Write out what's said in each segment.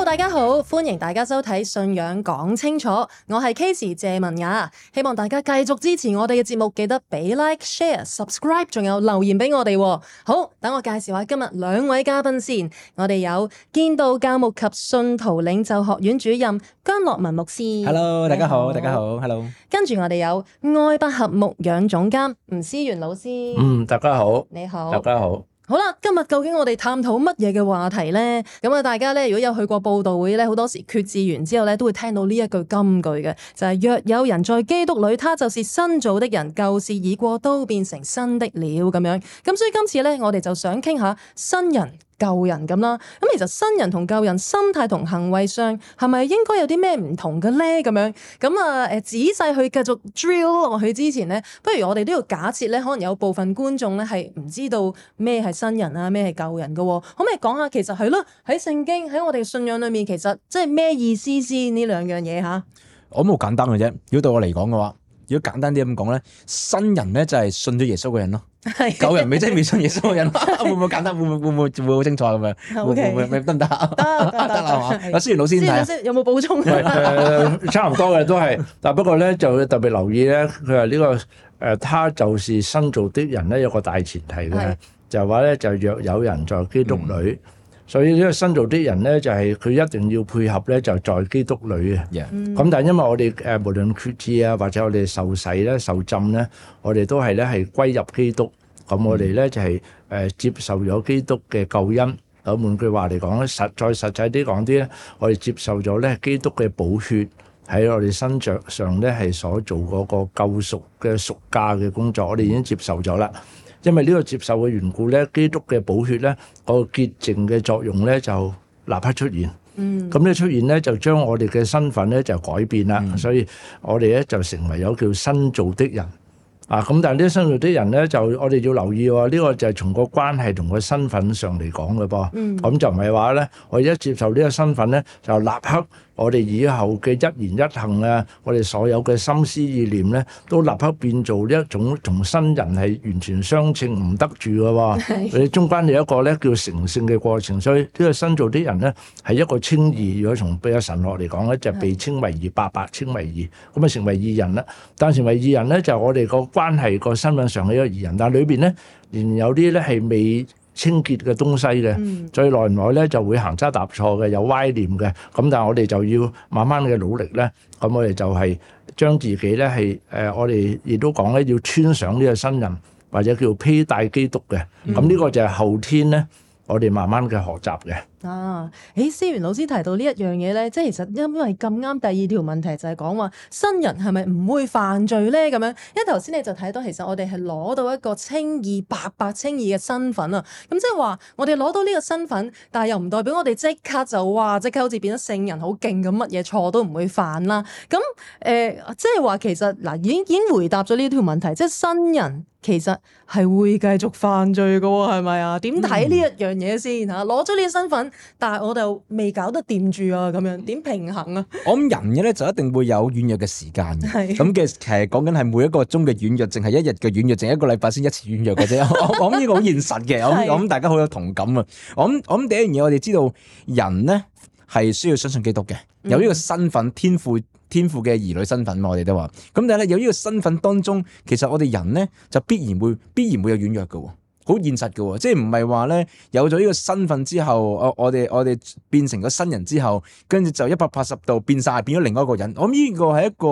大家好，歡迎大家收睇《信仰講清楚》，我係 Casey 謝文雅，希望大家繼續支持我哋嘅節目，記得俾 Like、Share、Subscribe， 仲有留言俾我哋。好，等我介紹下今日兩位嘉賓先，我哋有建道教牧及信徒領袖學院主任姜樂文牧師。 Hello， 大家好，大家好 ，Hello。 跟住我哋有愛百合牧養總監吳思源老師。 大家好， 你好， 大家好。 好啦，今日究竟我哋探討乜嘢嘅話題呢？咁啊，大家咧如果有去過佈道會咧，好多時決志完之後咧，都會聽到呢一句金句嘅，就係若有人在基督裏，他就是新造的人，舊事已過，都變成新的了咁樣。咁所以今次咧，我哋就想傾下新人舊人咁啦，咁其實新人同舊人心態同行為上係咪應該有啲咩唔同嘅咧？咁樣咁啊，仔細去繼續 drill 落去之前咧，不如我哋都要假設咧，可能有部分觀眾咧係唔知道咩係新人啊，咩係舊人嘅，可唔可以講下其實係咯？喺聖經喺我哋信仰裏面，其實即係咩意思先呢兩樣嘢吓？ 我冇簡單嘅啫，如果對我嚟講嘅話，如果簡單啲咁講咧，新人咧就係信咗耶穌嘅人咯。舊人咪即係未信耶穌嘅人，會唔會簡單？會唔會好清楚咁樣？會唔會得唔得？得啦嘛。阿思源老師點睇？ 有冇補充？ 差唔多嘅都係，但不過咧就特別留意咧，佢話呢個他就是新造的人咧，有個大前提嘅，就係話咧就若有人在基督裏。所以呢個新造的人咧，就係佢一定要配合咧，就在基督裏嘅。咁但係因為我哋無論決志啊，或者我哋受洗咧、受浸咧，我哋都係咧係歸入基督。咁我哋咧就係接受咗基督嘅救恩。咁換句話嚟講咧，再實際啲講啲咧，我哋接受咗咧基督嘅寶血喺我哋身上咧係所做嗰個救贖嘅贖價嘅工作，我哋已經接受咗啦。因為呢個接受嘅緣故咧，基督嘅寶血咧，個潔淨嘅作用咧就立刻出現。咁呢出現咧就將我哋嘅身份咧就改變啦。所以我哋咧就成為咗叫新造的人。咁但係呢啲新造的人咧，就我哋要留意喎，呢個就係從個關係同個身份上嚟講嘅噃。咁就唔係話咧，我一接受呢個身份咧，就立刻我哋以後嘅一言一行啊，我哋所有嘅心思意念咧，都立刻變做呢一種同新人係完全相稱唔得住嘅喎。佢中間有一個咧叫成聖嘅過程，所以呢個新造的人咧係一個稱義。如果從比較神學嚟講咧，就被稱為義，白稱為義，咁啊成為義人啦。但成為義人咧，就我哋個關係個身份上係一個義人，但係裏邊咧仍然有啲咧係未清潔嘅東西嘅，最耐唔耐咧就會行差踏錯嘅，有歪念嘅。咁但係我哋就要慢慢嘅努力咧，咁我哋就係將自己咧係我哋亦都講咧要穿上呢個新人，或者叫披戴基督嘅。咁呢個就係後天咧，我哋慢慢嘅學習嘅。 思源老師提到呢一樣嘢咧，即係其實因為咁啱第二條問題就係講話新人係咪唔會犯罪咧？咁樣，因為頭先你就睇到其實我哋係攞到一個稱義白稱義嘅身份啊。咁即係話我哋攞到呢個身份，但係又唔代表我哋即刻就即刻好似變咗聖人好勁咁，乜嘢錯都唔會犯啦。咁即係話其實嗱已經回答咗呢條問題，即係新人其實係會繼續犯罪㗎喎，係咪啊？點睇呢一樣嘢先嚇？攞咗呢個身份，但係我就未搞得掂住啊，咁樣點平衡啊？ 我諗人嘅咧就一定會有軟弱嘅時間嘅，咁嘅其實講緊係每一個鐘嘅軟弱，淨係一日嘅軟弱，淨係一個禮拜先一次軟弱嘅啫。我諗呢個好現實嘅，我諗大家好有同感啊。我諗第一樣嘢，我哋知道人咧係需要相信基督嘅，有呢個身份天賦嘅兒女身份嘛，我哋都話。咁但係咧有呢個身份當中，其實我哋人咧就必然會有軟弱嘅。好現實嘅，即係唔係話咧有咗呢個身份之後，我哋變成咗新人之後，跟住就180度變咗另外一個人。我諗呢個係一個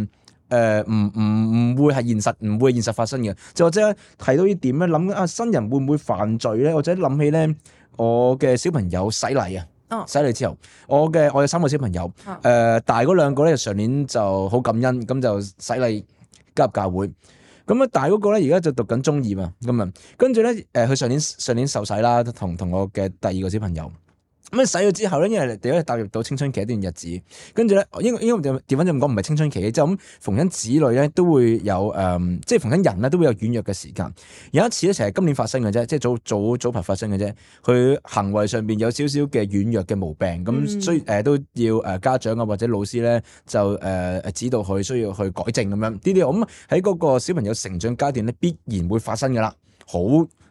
唔會係現實，唔會現實發生嘅。就或者提到呢點咧，諗新人會唔會犯罪咧？或者諗起咧，我嘅小朋友洗禮啊，洗禮之後，我有3個小朋友，大嗰2個咧上年就好感恩，咁就洗禮加入教會。咁啊，大嗰個咧而家就讀緊中2嘛，咁啊，跟住咧佢上年受洗啦，同我嘅第2個小朋友。咁洗咗之後咧，因為第一踏入到青春期一段日子，跟住咧，應該調翻咁講，唔係青春期，即係咁逢親子女咧都會有即係逢親人咧都會有軟弱嘅時間。有一次咧，成日今年發生嘅啫，即係早排發生嘅啫。佢行為上邊有少少嘅軟弱嘅毛病，咁所以都要家長啊或者老師咧就指導佢需要去改正咁樣。呢啲我諗喺嗰個小朋友成長階段咧必然會發生噶啦，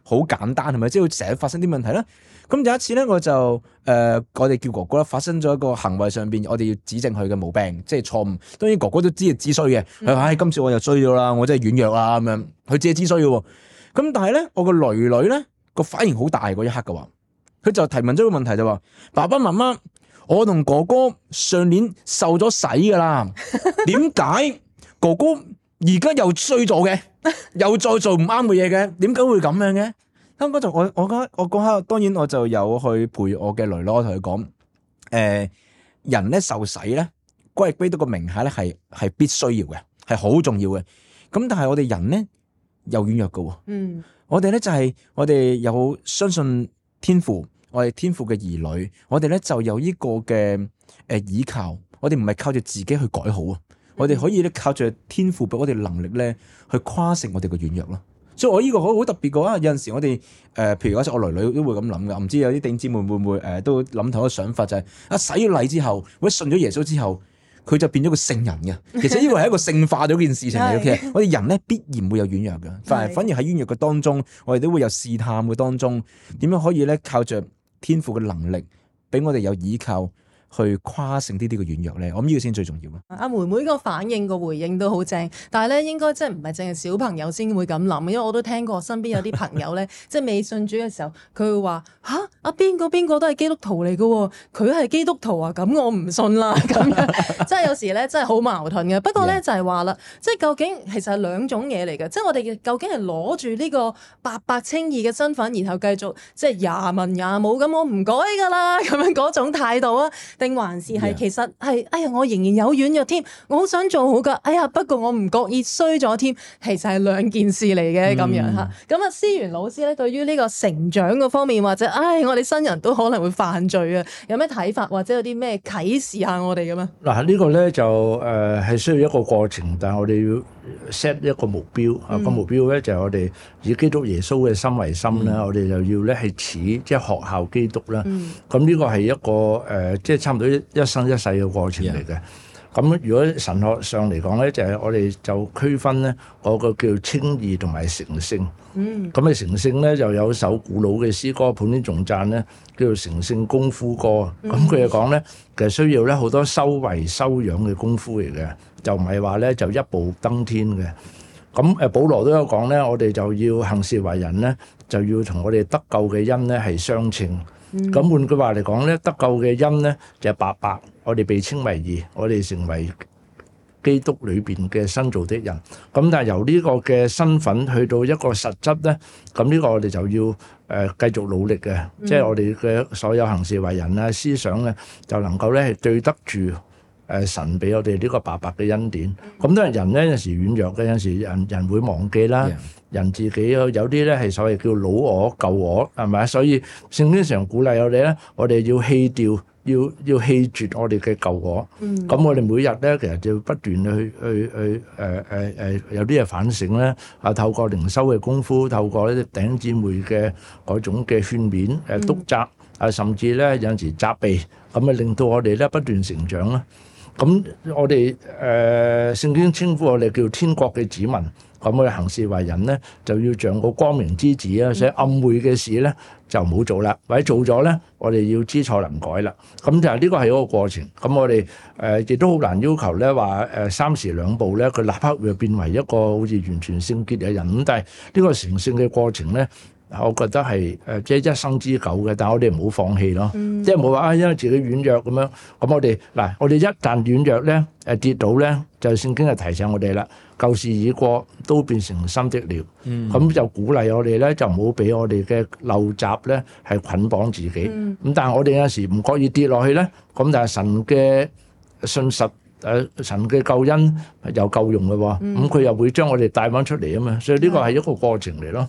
好簡單係咪？即係會成日發生啲問題啦。咁有一次咧，我哋叫哥哥啦，發生咗一個行為上邊，我哋要指正佢嘅毛病，即係錯誤。當然哥哥都知係知衰嘅，佢話：今次我又衰咗啦，我真係軟弱啦咁樣。佢自己知衰嘅喎。咁但係咧，我個女女咧個反應好大嗰一刻嘅話，佢就提問咗個問題就話：爸爸媽媽，我同哥哥上年受咗洗噶啦，點解哥哥而家又衰咗嘅，又再做唔啱嘅嘢嘅？點解會咁樣嘅？香港就我嗰刻，當然我就有去陪我嘅女女，我同佢講：人咧受洗咧，歸入基督個名下咧係必須要嘅，係好重要嘅。咁但係我哋人咧又軟弱嘅，我哋咧就係我哋有相信天父，我哋天父嘅兒女，我哋咧就有呢個嘅倚靠，我哋唔係靠住自己去改好啊，我哋可以咧靠住天父俾我哋能力咧去跨勝我哋嘅軟弱咯。所以我呢個好特別嘅話，有陣時我哋譬如嗰時我女女都會咁諗噶，唔知有啲弟兄姊妹會唔會都諗同一個想法，就係洗咗禮之後，或者信咗耶穌之後，佢就變咗個聖人嘅。其實呢個係一個聖化咗件事情嚟嘅。其實我哋人咧必然會有軟弱嘅，反而喺軟弱嘅當中，我哋都會有試探嘅當中，點樣可以咧靠着天父嘅能力，俾我哋有依靠去跨勝呢啲嘅軟弱咧，我諗呢個先最重要啊！ 阿妹妹個反應個回應都好正，但係咧應該即係唔係淨係小朋友先會咁諗，因為我都聽過身邊有啲朋友咧，即係未信主嘅時候，佢會話吓阿邊個都係基督徒嚟㗎，佢係基督徒啊，咁我唔信啦咁樣，即係有時咧真係好矛盾嘅。不過咧就係話啦，即係究竟其實係兩種嘢嚟嘅，即係我哋究竟係攞住呢個白白稱義嘅身份，然後繼續即係廿文廿武咁，我唔改㗎啦咁樣嗰種態度啊？定還是係其實係哎呀，我仍然有軟弱添，我好想做好噶，哎呀，不過我唔覺意衰咗添，其實係兩件事嚟嘅咁樣吓。咁啊，思源老師咧，對於呢個成長嘅方面，或者我哋新人都可能會犯罪啊，有咩睇法，或者有啲咩啟示下我哋咁啊？ 嗱，呢個咧就係需要一個過程，但係我哋要 set 一個目標啊。個目標咧就係我哋以基督耶穌嘅心為心啦，我哋就要咧係似即係學效基督啦。咁呢個係一個即係差唔多一生一世嘅過程嚟嘅。咁如果神學上嚟講咧，就係我哋就區分咧嗰個叫稱義同埋成聖。咁啊成聖咧就有首古老嘅詩歌，普天頌讚咧，叫做成聖功夫歌。咁佢就講咧，其實需要咧好多修為修養嘅功夫嚟嘅，就唔係話咧就一步登天嘅。咁保羅都有講咧，我哋就要行事為人咧，就要同我哋得救嘅恩咧係相稱。咁換句話嚟講咧，得救嘅恩咧就係白白，我哋被稱為義，我哋成為基督裏邊嘅新造的人。咁但係由呢個嘅身份去到一個實質咧，咁呢個我哋就要繼續努力嘅，即係我哋嘅所有行事為人啊、思想咧，就能夠咧係對得住神俾我哋呢個白白嘅恩典。咁當然人咧有時軟弱嘅，有時人會忘記啦。人自己有啲咧係所謂叫老我舊我，係咪？所以聖經常鼓勵我哋咧，我哋要棄掉，要棄絕我哋嘅舊我。咁我哋每日咧，其實就要不斷去有啲嘢反省咧。透過靈修嘅功夫，透過呢啲弟兄姊妹嘅嗰種嘅勸勉、督責甚至咧有陣時責備，咁啊令到我哋咧不斷成長啦。咁我哋聖經稱呼我哋叫天國嘅子民。咁我哋行事為人咧，就要像個光明之子啊！所以暗昧嘅事咧，就唔好做啦。或者做咗咧，我哋要知錯能改啦。咁就係呢個係一個過程。咁我哋亦都好難要求咧話三時兩步咧，佢立刻會變為一個好似完全聖潔嘅人。咁但係呢個成聖嘅過程咧，我覺得係即係一生之久嘅。但係我哋唔好放棄咯，即係冇話因為自己軟弱咁樣。咁我哋一旦軟弱咧，跌倒咧，就聖經就提醒我哋啦。舊事已過，都變成新的了。咁就鼓勵我哋咧，就唔好俾我哋嘅陋習咧係捆綁自己。咁但係我哋有時唔覺意跌落去咧，咁但係神嘅信實，神嘅救恩又夠用嘅喎。咁佢又會將我哋帶翻出嚟啊嘛。所以呢個係一個過程嚟咯。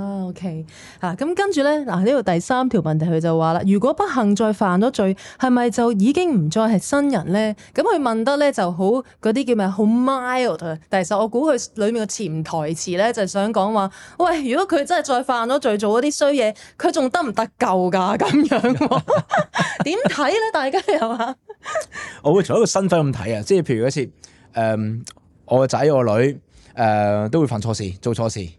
OK， 咁跟住咧，呢度第三條問題佢就話啦，如果不幸再犯咗罪，係咪就已經唔再係新人咧？咁佢問得咧就好嗰啲叫咩？好 mild。但係其實我估佢裏面嘅潛台詞咧，就係想講話，喂，如果佢真係再犯咗罪，做嗰啲衰嘢，佢仲得唔得救㗎？咁樣點睇咧？大家又話， 我會從一個身份咁睇啊，即係譬如一次，我個仔我女都會犯錯事，做錯事。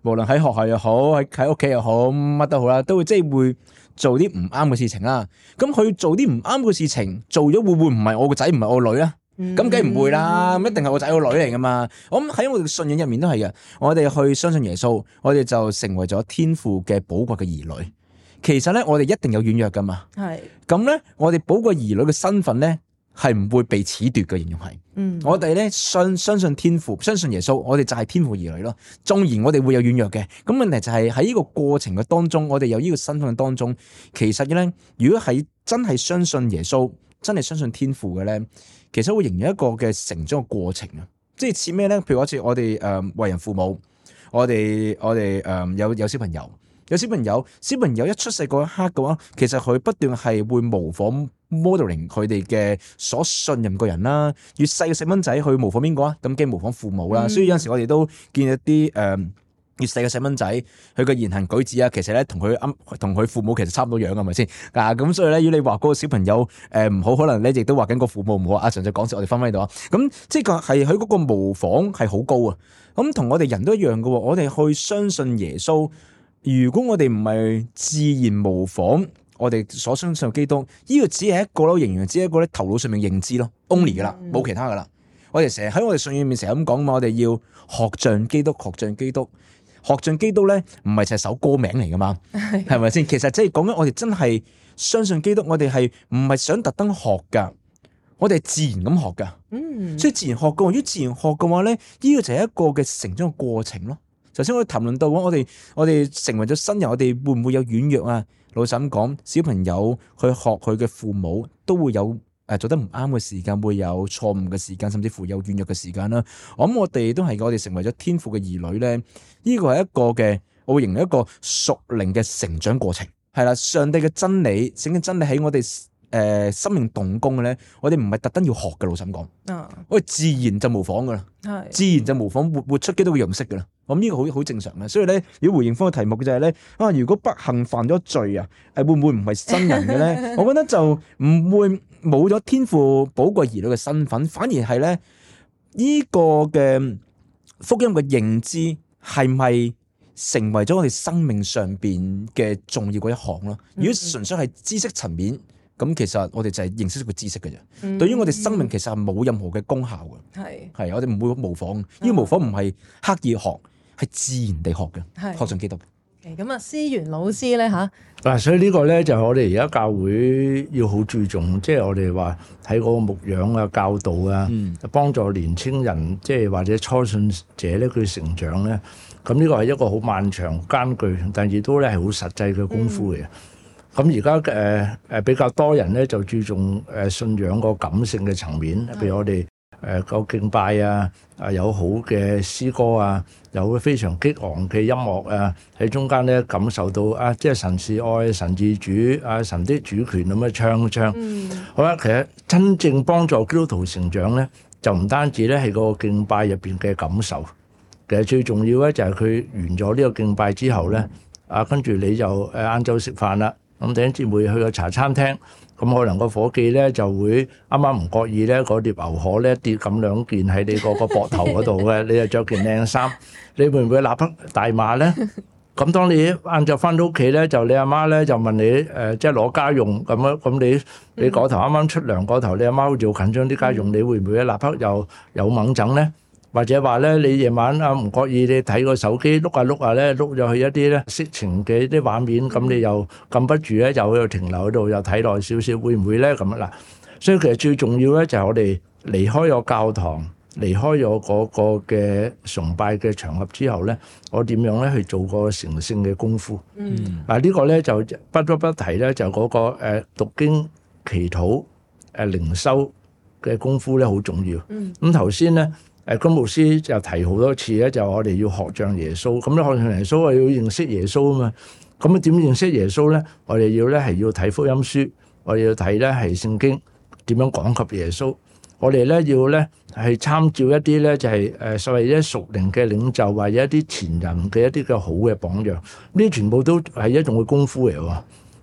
無論喺學校又好，喺屋企又好，乜都好啦，都會即係會做啲唔啱嘅事情啦。咁佢做啲唔啱嘅事情，做咗會唔會唔係我個仔，唔係我個女咧？咁梗係唔會啦，咁一定係我仔個女嚟噶嘛。我諗喺我哋嘅信仰入面都係嘅，我哋去相信耶穌，我哋就成為咗天父嘅寶貴嘅兒女。其實咧，我哋一定有軟弱噶嘛。係咁咧，我哋寶貴兒女嘅身份咧，係唔會被褫奪嘅，形容係。我哋咧相信天父，相信耶穌，我哋就係天父兒女咯。縱然我哋會有軟弱嘅，咁問題就係喺呢個過程嘅當中，我哋有呢個身份嘅當中，其實咧，如果係真係相信耶穌，真係相信天父嘅咧，其實會形成一個嘅成長嘅過程啊。即係似咩咧？譬如好似我哋為人父母，我哋有小朋友。小朋友一出世嗰一刻嘅話，其實佢不斷係會模仿 modeling 佢哋嘅所信任嘅人啦。越細嘅細蚊仔去模仿邊個啊？咁梗係模仿父母啦。所以有陣時我哋都見一啲越細嘅細蚊仔，佢嘅言行舉止啊，其實咧同佢父母其實差唔多樣，係咪先？咁所以咧，如果你話嗰個小朋友唔好，可能咧亦都話緊個父母唔好。阿常就講笑，我哋分喺度啊。咁即係係佢嗰個模仿係好高啊。咁同我哋人都一樣嘅，我哋去相信耶穌。如果我哋唔係自然模仿我哋所相信嘅基督，呢個只係一個咯，仍然只係一個咧頭腦上面認知咯 ，only 噶啦，冇其他噶啦。我哋成日喺我哋信仰入面成日咁講嘛，我哋要學像基督，學像基督，學像基督咧，唔係就係首歌名嚟噶嘛，係咪先？其實即係講緊我哋真係相信基督，我哋係唔係想特登學噶，我哋係自然咁學噶。所以自然學嘅話，如果自然學嘅話咧，呢個就係一個嘅成長嘅過程咯。頭先我哋談論到我哋成為咗新人，我哋會唔會有軟弱啊？老實咁講，小朋友去學佢嘅父母都會有做得唔啱嘅時間，會有錯誤嘅時間，甚至乎有軟弱嘅時間啦。我諗我哋都係我哋成為咗天父嘅兒女咧，呢個係一個嘅，我會形容一個屬靈嘅成長過程。係啦，上帝嘅真理，聖經真理喺我哋生命動工嘅咧，我哋唔係特登要學嘅。老實咁講，我哋自然就模仿噶啦，自然就模仿活出基督嘅樣式噶啦。咁呢個好正常嘅，所以咧，如果回應翻個題目嘅就係咧，如果不幸犯咗罪啊，會唔會唔係新人嘅咧？我覺得就唔會冇咗天父寶貴兒女嘅身份，反而係咧呢個嘅福音嘅認知係咪成為咗我哋生命上邊嘅重要嗰一項咯？如果純粹係知識層面，咁其實我哋就係認識個知識嘅啫。對於我哋生命其實係冇任何嘅功效嘅。係我哋唔會模仿，呢個模仿唔係刻意學。係自然地學嘅，學上基督嘅。 咁啊，思源老師咧嚇， 嗱，所以呢個咧就係我哋而家教會要好注重，即係我哋話喺嗰個牧養啊、教導啊，幫助年青人，即係或者初信者咧佢成長咧。咁呢個係一個好漫長艱巨，但亦都咧係好實際嘅功夫嘅。咁而家比較多人咧就注重信仰個感性嘅層面，譬如我哋。個敬拜啊，有好嘅詩歌啊，有非常激昂嘅音樂啊，喺中間咧感受到即係神是愛，神自主，神的主權咁樣唱。好啦，其實真正幫助基督徒成長咧，就唔單止咧係個敬拜入邊嘅感受，其實最重要咧就係佢完咗呢個敬拜之後咧，跟住你就晏晝食飯啦，咁弟兄姊妹去個茶餐廳。咁可能個夥計咧就會啱啱唔覺意咧，嗰碟牛河咧跌咁兩件喺你個膊頭嗰度嘅，你又着件靚衫，你會唔會立刻大罵咧？咁當你晏晝翻到屋企咧，就你阿媽咧就問你即係攞家用咁樣，咁你嗰頭啱啱出糧嗰頭，你阿媽好似好緊張啲家用，你會唔會立刻又有猛整咧？或者話咧，你夜晚唔覺意你睇個手機碌下咧，碌咗去一啲咧色情嘅啲畫面，咁你又禁不住咧，又喺度停留喺度，又睇耐少少，會唔會咧咁嗱？所以其實最重要咧就係我哋離開咗教堂，離開咗嗰個嘅崇拜嘅場合之後咧，我點樣咧去做個成聖嘅功夫？呢個咧就不得不提咧，就嗰個讀經、祈禱、靈修嘅功夫咧好重要。咁頭先咧。金牧師就提好多次咧，就我哋要學像耶穌。咁咧學像耶穌，我要認識耶穌啊嘛。咁點認識耶穌咧？我哋要咧係要睇福音書，我哋要睇咧係聖經點樣講及耶穌。我哋咧要咧係參照一啲咧就係所謂一屬靈嘅領袖，或者一啲前人嘅一啲嘅好嘅榜樣。呢啲全部都係一種嘅功夫嚟喎。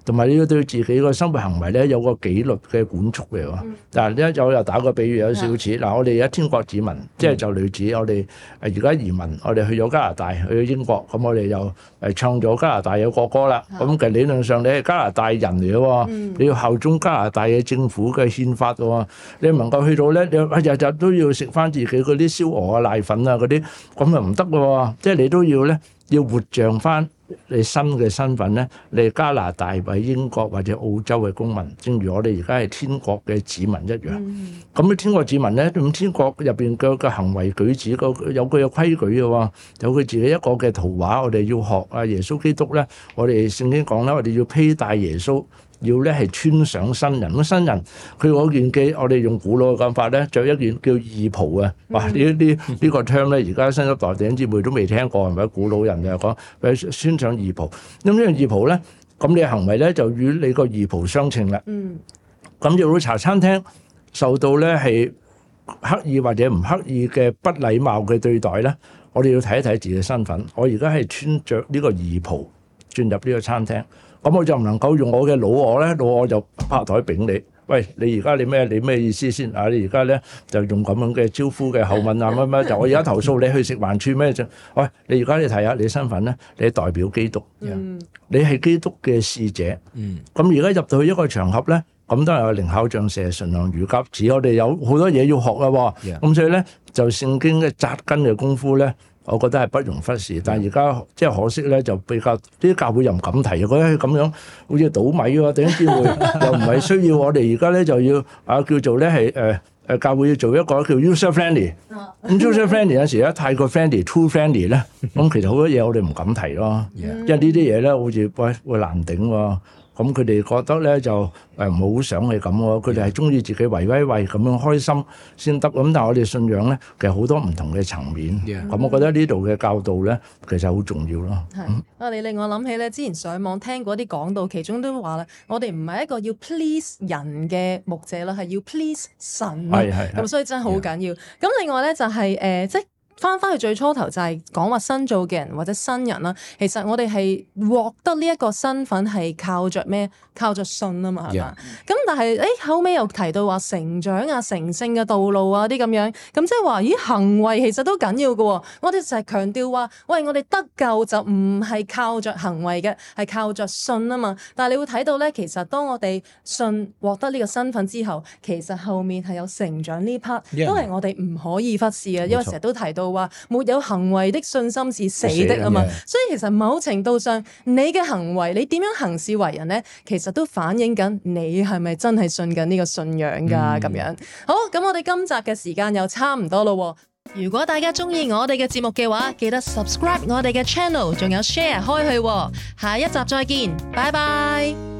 同埋你要對自己個生活行為咧有個紀律嘅管束嚟喎。嗱，呢一又打個比喻有少少似嗱，我哋而家天國子民，即係就類似我哋而家移民，我哋去咗加拿大，去咗英國，咁我哋又唱咗加拿大嘅國歌啦。咁其實理論上你係加拿大人嚟嘅喎，你要效忠加拿大嘅政府嘅憲法喎，你唔能夠去到咧，你日日都要食翻自己嗰啲燒鵝啊、奶粉啊嗰啲，咁啊唔得嘅喎，即係你都要咧要活像翻你新嘅身份咧，你係加拿大或英國或者澳洲嘅公民，正如我哋而家係天國嘅子民一樣。咁啲天國子民咧，咁天國入邊嘅行為舉止有佢嘅規矩嘅喎，有佢自己一個嘅圖畫，我哋要學啊耶穌基督咧，我哋聖經講咧，我哋要披戴耶穌。要咧係穿上新人，咁新人佢嗰件嘅，我哋用古老嘅講法咧，着一件叫義袍啊！哇！呢個 term 咧，而家新一代弟兄姊妹都未聽過，係咪？古老人就講穿上義袍。咁呢樣義袍咧，咁你嘅行為咧就與你個義袍相稱啦。咁入到茶餐廳受到咧係刻意或者唔刻意嘅不禮貌嘅對待咧，我哋要睇一睇自己嘅身份。我而家係穿着呢個義袍進入呢個餐廳。咁我就唔能夠用我嘅老我咧，老我就拍台柄你。喂，你而家你咩意思先？啊，你而家咧就用咁樣嘅招呼嘅口吻啊乜就我而家投訴你去食環署咩啫？喂，你而家你睇下你身份咧，你代表基督，你係基督嘅使者。咁而家入到去一個場合咧，咁當然有靈巧像蛇，馴良如鴿子，我哋有好多嘢要學啦。咁所以咧就聖經嘅扎根嘅功夫咧。我覺得係不容忽視，但係而家即係可惜咧，就比較啲教會又唔敢提，覺得咁樣好似倒米喎，頂機會又唔係需要。我哋而家咧就要叫做咧係教會要做一個叫 user friendly。咁 user friendly 有時咧太過 friendly，too friendly 咧，咁其實好多嘢我哋唔敢提咯，因為呢啲嘢咧好似會難頂喎。咁佢哋覺得咧就唔好想係咁喎，佢哋係中意自己維威咁樣開心先得。咁但係我哋信仰咧，其實好多唔同嘅層面。咁我覺得呢度嘅教導咧，其實好重要咯。 你令我諗起咧，之前上網聽過啲講道，其中都話啦，我哋唔係一個要 please 人嘅牧者啦，係要 please 神。咁所以真係好緊要。咁另外咧就係即係翻去最初頭就係講話新造嘅人或者新人啦，其實我哋係獲得呢一個身份係靠着咩？靠着信啊嘛，係嘛？咁但係後尾又提到話成長啊、成聖嘅道路啊啲咁樣，咁即係話咦行為其實都緊要嘅。我哋就係強調話，喂，我哋得救就唔係靠着行為嘅，係靠着信啊嘛。但係你會睇到咧，其實當我哋信獲得呢個身份之後，其實後面係有成長呢 part， 都係我哋唔可以忽視嘅，因為成日都提到話沒有行為的信心是死的啊嘛。所以其實某程度上，你嘅行為，你點樣行事為人咧，其實都反映緊你係咪真係信緊呢個信仰㗎咁樣。好，咁我哋今集嘅時間又差唔多咯。如果大家中意我哋嘅節目嘅話，記得 subscribe 我哋嘅 channel， 仲有 share 開去。下一集再見，拜拜。